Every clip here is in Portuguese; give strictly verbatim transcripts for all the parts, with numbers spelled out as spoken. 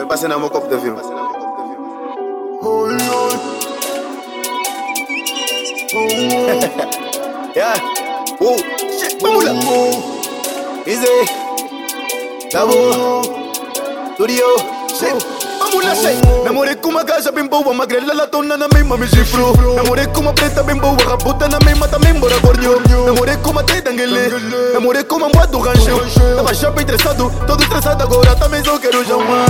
Vai passar na meu copo de avião. Oi, oi. Yeah. Oh, shit, vamos lá. Easy. Tá bom. Studio. Shit. Vamos lá, shit. Namorei com uma gaja bem boa, magrela latona na mesma me chifrou. Namorei com uma preta bem boa, raputa na mesma também bora gornho. Namorei com uma teta anguele. Namorei com uma moa do rancho. Tava chapa estressado, todo estressado agora também só quero chamar.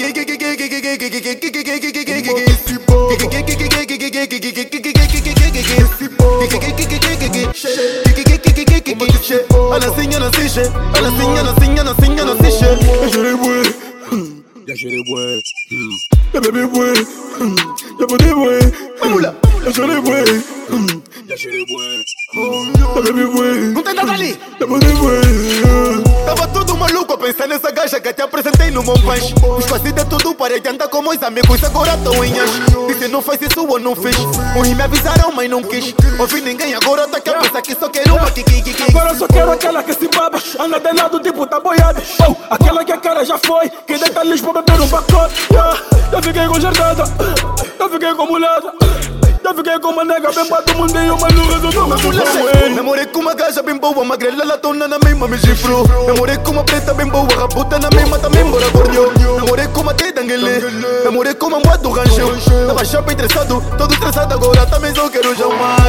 Ela assim, ela assim, ela assim, ela assim, ela assim, ela assim. Eu chorei bué, já chorei bué. Eu bebi bué, já botei bué. Vamos lá, eu chorei bué, já chorei bué. Eu bebi bué, não tem nada ali. Já botei bué. Tava tudo maluco a pensar nessa gaja que te apresentei no Monpanche. Os passos de tudo para andar com meus amigos, agora tão em anjo. Disse não faz isso ou não fiz. Uns me avisaram, mas não quis. Ouvi ninguém, agora tá aqui a pensar que só quero uma kiki. Agora só quero aquela que se baba, anda de lado tipo tá boiada. Oh, aquela que a cara já foi, que deita lixo pra beber um pacote. Yeah, já fiquei com jardada, já fiquei com mulata. Já fiquei com uma nega bem pra todo mundo e uma luz eu tô me namorei com uma gaja bem boa, magrela latona na mesma me chifrou. Namorei com uma preta bem boa, raputa na mesma também bora gornho. Namorei com uma teta anguele. Namorei com uma moa do rancho. Tava chapa estressado, todo estressado agora também só quero chamar.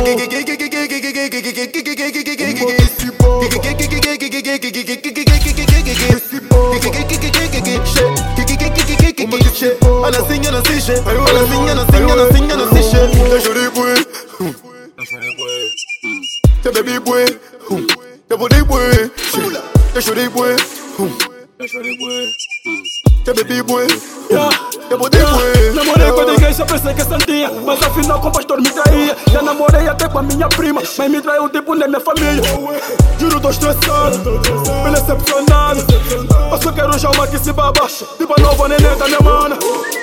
Ela assim, ela assim, ela assim, ela assim, ela assim, ela assim. Eu chorei bué, eu chorei bué. Eu bebi bué, eu botei bué. Eu chorei bué, eu chorei bué. Eu bebi bué, eu botei bué. Namorei com a igreja, pensei que é santinha, mas afinal com o pastor me traía. Já namorei até com a minha prima, mas me traiu tipo na minha família. Juro, tô estressado, bem decepcionado. Eu só quero chamar que se baba, tipo a nova neném da minha mana.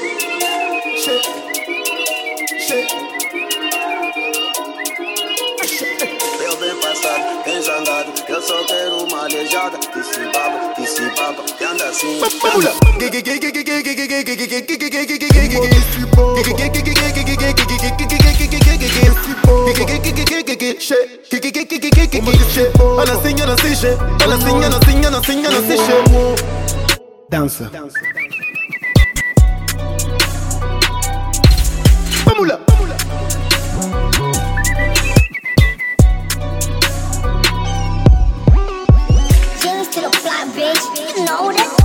Eu bem passado, bem zangado, eu só quero uma aleijada. Que se baba, que se baba, que anda assim. Vamos lá. Ela assim, ela assim, ela assim, ela assim, ela assim, ela assim. Dança. Vamos lá. Just to the fly, bitch. You know that.